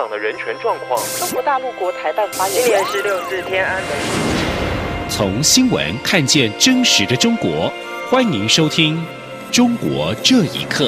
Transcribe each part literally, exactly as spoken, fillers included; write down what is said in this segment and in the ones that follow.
港的人权状况。 中国大陆国台办发言人， 今年是六四天安门。 从新闻看见真实的中国，欢迎收听《中国这一刻》。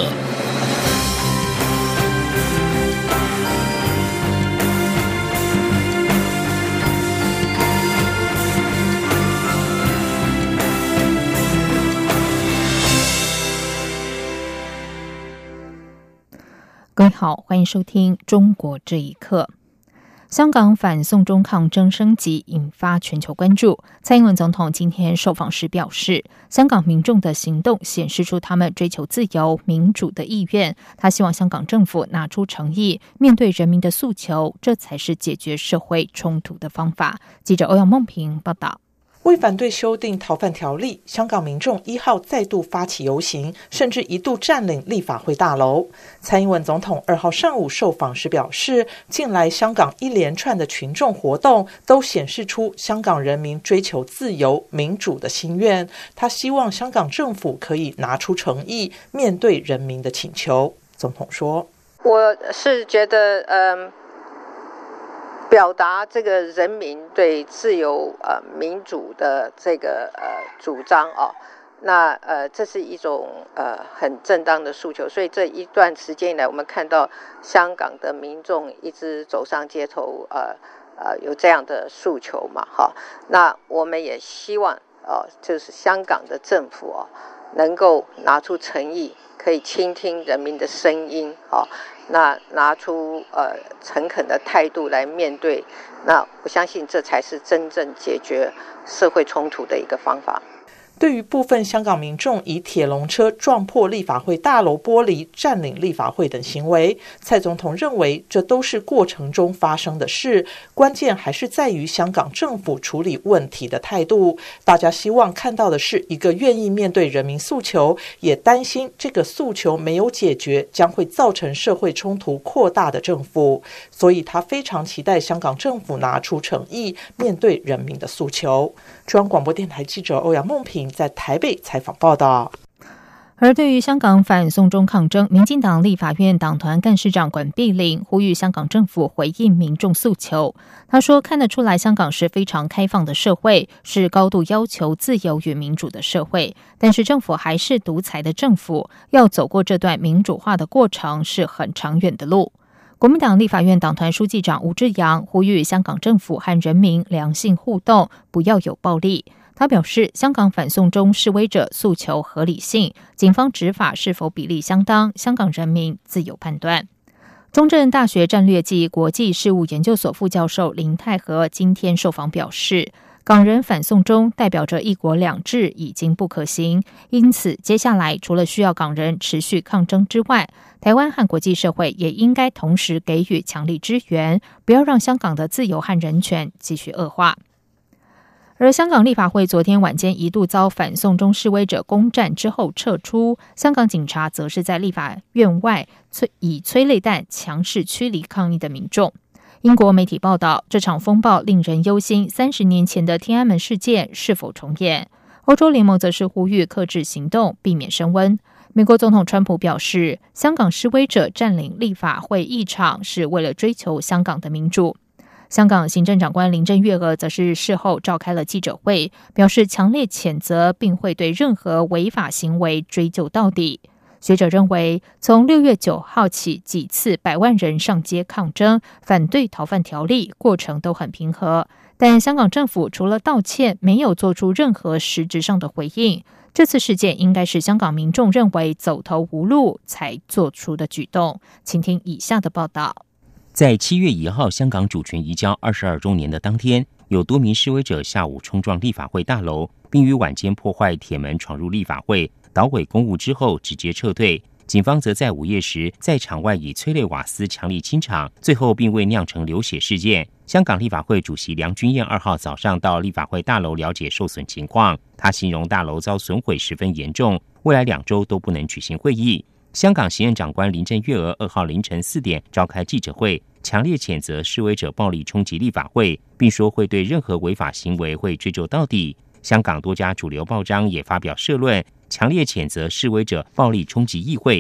各位好，欢迎收听《中国这一刻》。香港反送中抗争升级，引发全球关注。蔡英文总统今天受访时表示，香港民众的行动显示出他们追求自由民主的意愿。他希望香港政府拿出诚意，面对人民的诉求，这才是解决社会冲突的方法。记者欧阳梦平报道。 为反对修订逃犯条例，香港民众一号再度发起游行，甚至一度占领立法会大楼。蔡英文总统二号上午受访时表示，近来香港一连串的群众活动都显示出香港人民追求自由民主的心愿。他希望香港政府可以拿出诚意，面对人民的请求。总统说：“ 我是觉得，嗯。”表达这个人民对自由呃民主的这个呃主张哦，那呃这是一种呃很正当的诉求，所以这一段时间以来，我们看到香港的民众一直走上街头，呃呃有这样的诉求嘛，哈、哦，那我们也希望哦，就是香港的政府哦能够拿出诚意，可以倾听人民的声音，哦。那拿出呃诚恳的态度来面对，那我相信这才是真正解决社会冲突的一个方法。 对于部分香港民众以铁笼车撞破立法会大楼玻璃、占领立法会等行为，蔡总统认为这都是过程中发生的事，关键还是在于香港政府处理问题的态度。大家希望看到的是一个愿意面对人民诉求，也担心这个诉求没有解决，将会造成社会冲突扩大的政府。所以他非常期待香港政府拿出诚意，面对人民的诉求。中央广播电台记者欧阳梦平在台北采访报道。 而对于香港反送中抗争，民进党立法院党团干事长管碧玲呼吁香港政府回应民众诉求。他说，看得出来香港是非常开放的社会，是高度要求自由与民主的社会，但是政府还是独裁的政府，要走过这段民主化的过程是很长远的路。国民党立法院党团书记长吴志阳呼吁香港政府和人民良性互动，不要有暴力。他表示，香港反送中示威者诉求合理性，警方执法是否比例相当，香港人民自有判断。中正大学战略暨国际事务研究所副教授林泰和今天受访表示，港人反送中代表着一国两制已经不可行，因此接下来除了需要港人持续抗争之外，台湾和国际社会也应该同时给予强力支援，不要让香港的自由和人权继续恶化。而香港立法会昨天晚间一度遭反送中示威者攻占之后撤出，香港警察则是在立法院外以催泪弹强势驱离抗议的民众。英国媒体报道，这场风暴令人忧心三十年前的天安门事件是否重演。欧洲联盟则是呼吁克制行动，避免升温。美国总统川普表示，香港示威者占领立法会议场是为了追求香港的民主。香港行政长官林郑月娥则是事后召开了记者会，表示强烈谴责，并会对任何违法行为追究到底。学者认为，从六月九号起几次百万人上街抗争，反对逃犯条例，过程都很平和，但香港政府除了道歉，没有做出任何实质上的回应。这次事件应该是香港民众认为走投无路才做出的举动。请听以下的报道。 在七月一号香港主权移交二十二周年的当天，有多名示威者下午冲撞立法会大楼，并于晚间破坏铁门闯入立法会，捣毁公务之后直接撤退。警方则在午夜时在场外以催泪瓦斯强力清场，最后并未酿成流血事件。香港立法会主席梁君彥二号早上到立法会大楼了解受损情况，他形容大楼遭损毁十分严重，未来两周都不能举行会议。香港行政长官林郑月娥二号凌晨四点召开记者会，强烈谴责示威者暴力冲击立法会，并说会对任何违法行为会追究到底。香港多家主流报章也发表社论，强烈谴责示威者暴力冲击议会。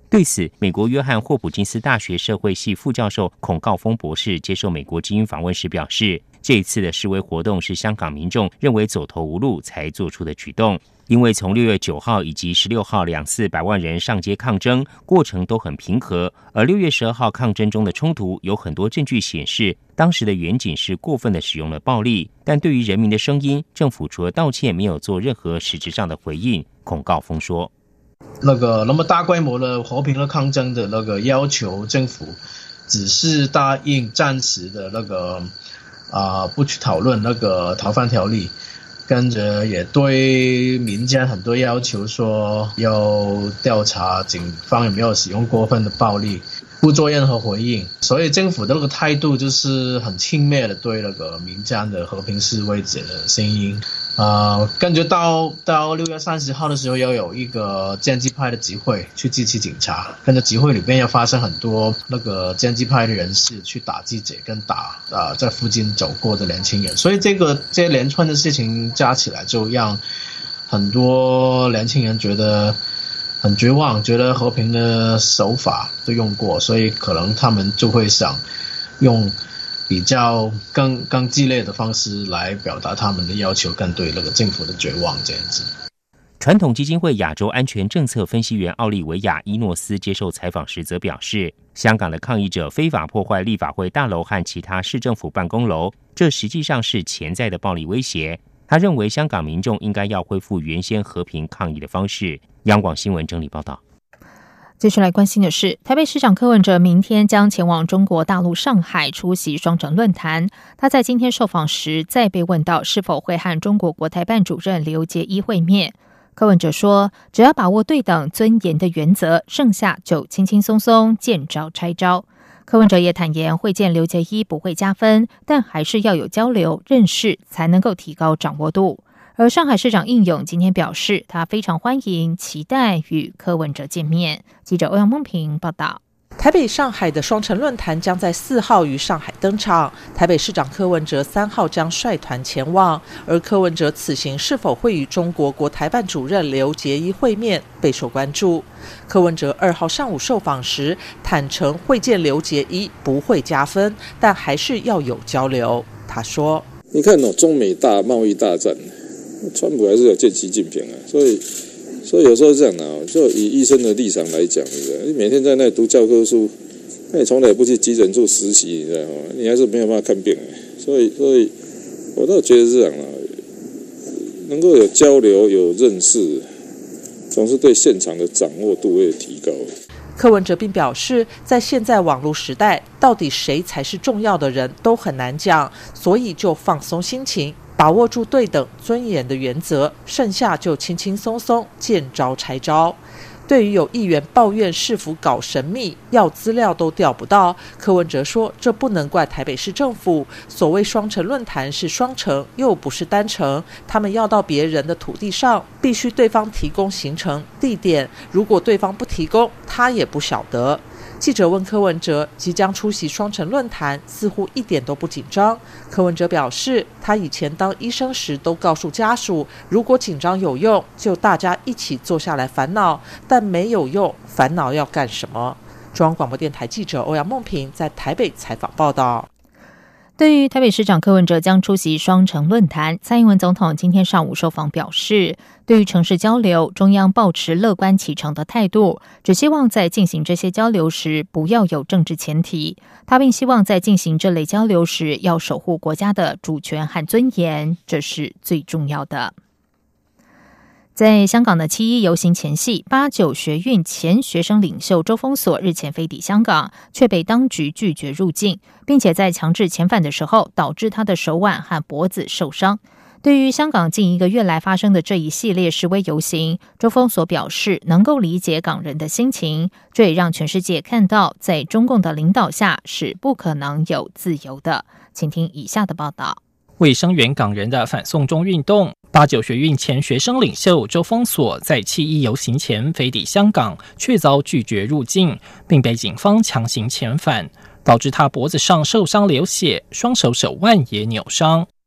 对此，美国约翰霍普金斯大学社会系副教授孔诰峰博士接受美国之音访问时表示，这一次的示威活动是香港民众认为走投无路才做出的举动，因为从六月九号以及十六号两次百万人上街抗争，过程都很平和，而六月十二号抗争中的冲突有很多证据显示，当时的远景是过分的使用了暴力，但对于人民的声音，政府除了道歉没有做任何实质上的回应。孔诰峰说， 那个那么大规模的和平的抗争的那个要求，政府只是答应暂时的那个啊、呃、不去讨论那个逃犯条例，跟着也对民间很多要求说要调查警方有没有使用过分的暴力，不做任何回应，所以政府的那个态度就是很轻蔑的对那个民间的和平示威者的声音。呃，感觉到到六月三十号的时候要有一个建制派的集会去支持警察，跟着集会里面要发生很多那个建制派的人士去打记者跟打啊、呃、在附近走过的年轻人，所以这个这连串的事情加起来，就让很多年轻人觉得很绝望，觉得和平的手法都用过，所以可能他们就会想用比较更更激烈的方式来表达他们的要求，跟对那个政府的绝望这样子。 传统基金会亚洲安全政策分析员奥利维亚·伊诺斯接受采访时则表示，香港的抗议者非法破坏立法会大楼和其他市政府办公楼，这实际上是潜在的暴力威胁。他认为香港民众应该要恢复原先和平抗议的方式。央广新闻整理报道。 接下来关心的是，台北市长柯文哲明天将前往中国大陆上海出席双城论坛。他在今天受访时再被问到是否会和中国国台办主任刘捷一会面。柯文哲说，只要把握对等尊严的原则，剩下就轻轻松松见招拆招。柯文哲也坦言，会见刘捷一不会加分，但还是要有交流认识，才能够提高掌握度。而上海市长应勇今天表示，他非常欢迎，期待与柯文哲见面。记者欧阳梦平报道。 台北、上海的双城论坛将在四号于上海登场，台北市长柯文哲三号将率团前往，而柯文哲此行是否会与中国国台办主任刘捷一会面，备受关注。柯文哲二号上午受访时坦诚，会见刘捷一不会加分，但还是要有交流。他说：“ 你看哦，中美大贸易大战。”川普还是有见习近平啊，所以，所以有时候这样啊，就以医生的立场来讲，你知道，你每天在那读教科书，那你从来也不去急诊处实习，你知道吗？你还是没有办法看病啊。所以，所以我倒觉得这样啊，能够有交流、有认识，总是对现场的掌握度会提高。 柯文哲并表示，在现在网络时代，到底谁才是重要的人都很难讲，所以就放松心情，把握住对等尊严的原则，剩下就轻轻松松见招拆招。对于有议员抱怨市府搞神秘，要资料都调不到，柯文哲说，这不能怪台北市政府，所谓双城论坛是双城，又不是单城，他们要到别人的土地上，必须对方提供行程地点，如果对方不提供，他也不晓得。记者问柯文哲，即将出席双城论坛，似乎一点都不紧张。柯文哲表示，他以前当医生时都告诉家属，如果紧张有用，就大家一起坐下来烦恼，但没有用，烦恼要干什么？中央广播电台记者欧阳梦平在台北采访报道。 对于台北市长柯文哲将出席双城论坛，蔡英文总统今天上午受访表示，对于城市交流，中央抱持乐观其成的态度，只希望在进行这些交流时不要有政治前提。他并希望在进行这类交流时要守护国家的主权和尊严，这是最重要的。在香港的七一游行前夕，八九学运前学生领袖周封锁日前飞抵香港，却被当局拒绝入境，并且在强制遣返的时候，导致他的手腕和脖子受伤。对于香港近一个月来发生的这一系列示威游行，周封锁表示能够理解港人的心情，这也让全世界看到，在中共的领导下是不可能有自由的。请听以下的报道。 为声援港人的反送中运动，八九学运前学生领袖周封锁在七一游行前飞抵香港，却遭拒绝入境，并被警方强行遣返，导致他脖子上受伤流血，双手手腕也扭伤。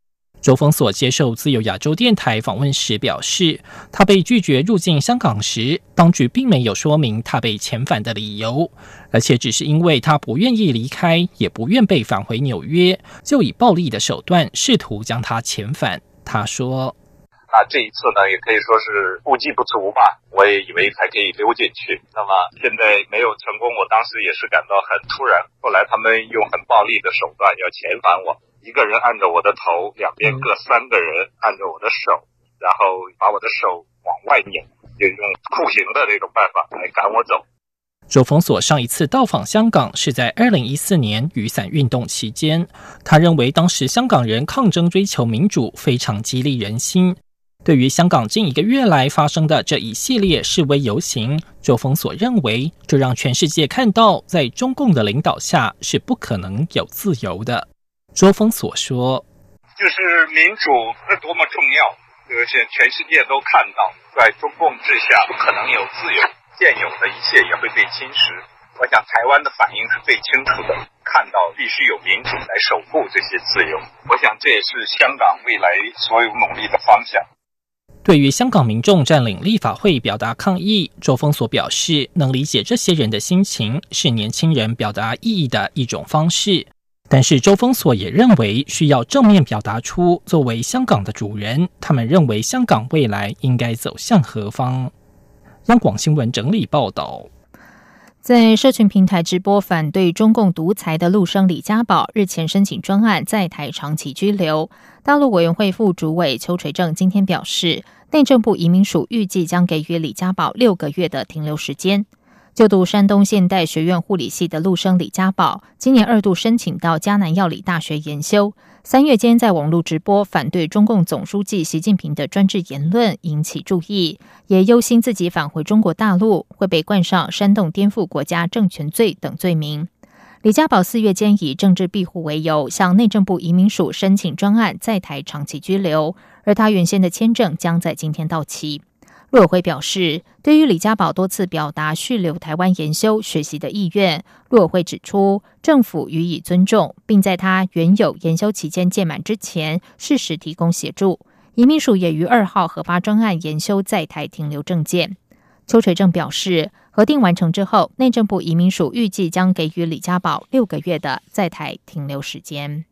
周封锁接受自由亚洲电台访问时表示，他被拒绝入境香港时，当局并没有说明他被遣返的理由，而且只是因为他不愿意离开，也不愿被返回纽约，就以暴力的手段试图将他遣返。他说， 那这一次呢，也可以说是不计不足吧，我也以为才可以溜进去，那么现在没有成功，我当时也是感到很突然，后来他们用很暴力的手段要遣返我，一个人按着我的头，两边各三个人按着我的手，然后把我的手往外拧，就用酷刑的这种办法来赶我走。 周封锁上一次到访香港是在二零一四年雨伞运动期间，他认为当时香港人抗争追求民主非常激励人心。对于香港近一个月来发生的这一系列示威游行，周封锁认为这让全世界看到在中共的领导下是不可能有自由的。周封锁说， 就是民主是多么重要，就是全世界都看到在中共治下不可能有自由，现有的一切也会被侵蚀。我想台湾的反应是最清楚的，看到必须有民主来守护这些自由，我想这也是香港未来所有努力的方向。 对于香港民众占领立法会表达抗议，周封锁表示能理解这些人的心情，是年轻人表达意义的一种方式。但是周封锁也认为需要正面表达出作为香港的主人，他们认为香港未来应该走向何方。央广新闻整理报道。 在社群平台直播反对中共独裁的陆生李家宝日前申请专案在台长期居留。大陆委员会副主委邱垂正今天表示，内政部移民署预计将给予李家宝六个月的停留时间。就读山东现代学院护理系的陆生李家宝，今年二度申请到嘉南药理大学研修，三月间在网络直播反对中共总书记习近平的专制言论，引起注意，也忧心自己返回中国大陆会被冠上煽动颠覆国家政权罪等罪名。李家宝四月间以政治庇护为由，向内政部移民署申请专案在台长期居留，而他原先的签证将在今天到期。陆委会表示，对于李家宝多次表达续留台湾研修学习的意愿，陆委会指出，政府予以尊重，并在他原有研修期间届满之前，适时提供协助。移民署也于二号核发专案研修在台停留证件。邱垂正表示，核定完成之后，内政部移民署预计将给予李家宝六个月的在台停留时间。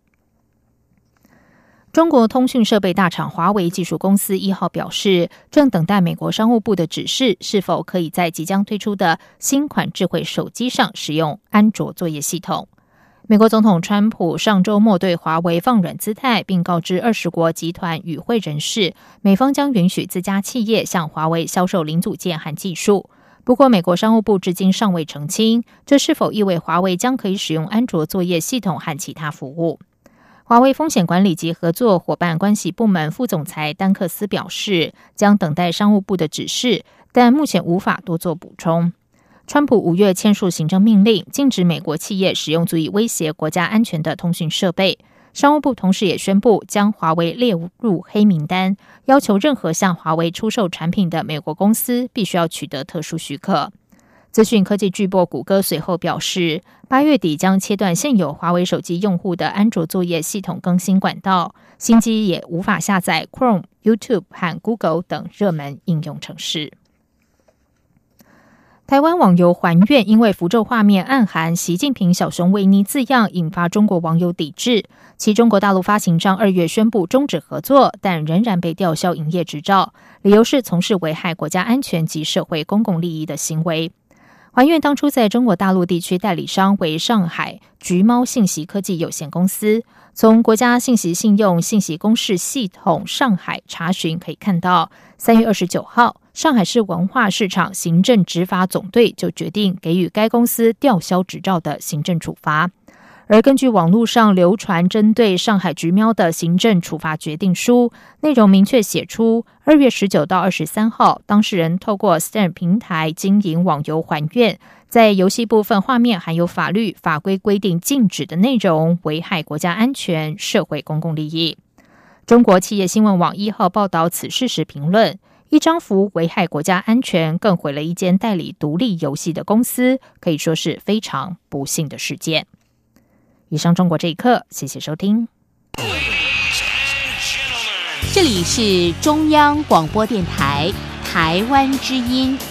中国通讯设备大厂华为技术公司一号表示，正等待美国商务部的指示，是否可以在即将推出的新款智慧手机上使用安卓作业系统。美国总统川普上周末对华为放软姿态，并告知二十国集团与会人士，美方将允许自家企业向华为销售零组件和技术。不过，美国商务部至今尚未澄清，这是否意味华为将可以使用安卓作业系统和其他服务。华为风险管理及合作伙伴关系部门副总裁丹克斯表示，将等待商务部的指示，但目前无法多做补充。川普五月签署行政命令，禁止美国企业使用足以威胁国家安全的通讯设备。商务部同时也宣布将华为列入黑名单，要求任何向华为出售产品的美国公司必须要取得特殊许可。资讯科技巨擘谷歌随后表示，八月底将切断现有华为手机用户的安卓作业系统更新管道，新机也无法下载 Chrome、YouTube 和 Google 等热门应用程式。台湾网游还愿因为符咒画面暗含习近平小熊维尼字样，引发中国网友抵制。其中国大陆发行商二月宣布终止合作，但仍然被吊销营业执照，理由是从事危害国家安全及社会公共利益的行为。还愿当初在中国大陆地区代理商为上海橘猫信息科技有限公司，从国家信息信用信息公示系统上海查询可以看到，三月二十九号，上海市文化市场行政执法总队就决定给予该公司吊销执照的行政处罚。而根据网络上流传针对上海橘喵的行政处罚决定书，内容明确写出，二月十九到二十三号，当事人透过 Steam 平台经营网游还愿，在游戏部分画面含有法律法规规定禁止的内容，危害国家安全、社会公共利益。中国企业新闻网一号报道此事时评论，一张符危害国家安全，更毁了一间代理独立游戏的公司，可以说是非常不幸的事件。以上中国这一刻，谢谢收听。 这里是中央广播电台台湾之音。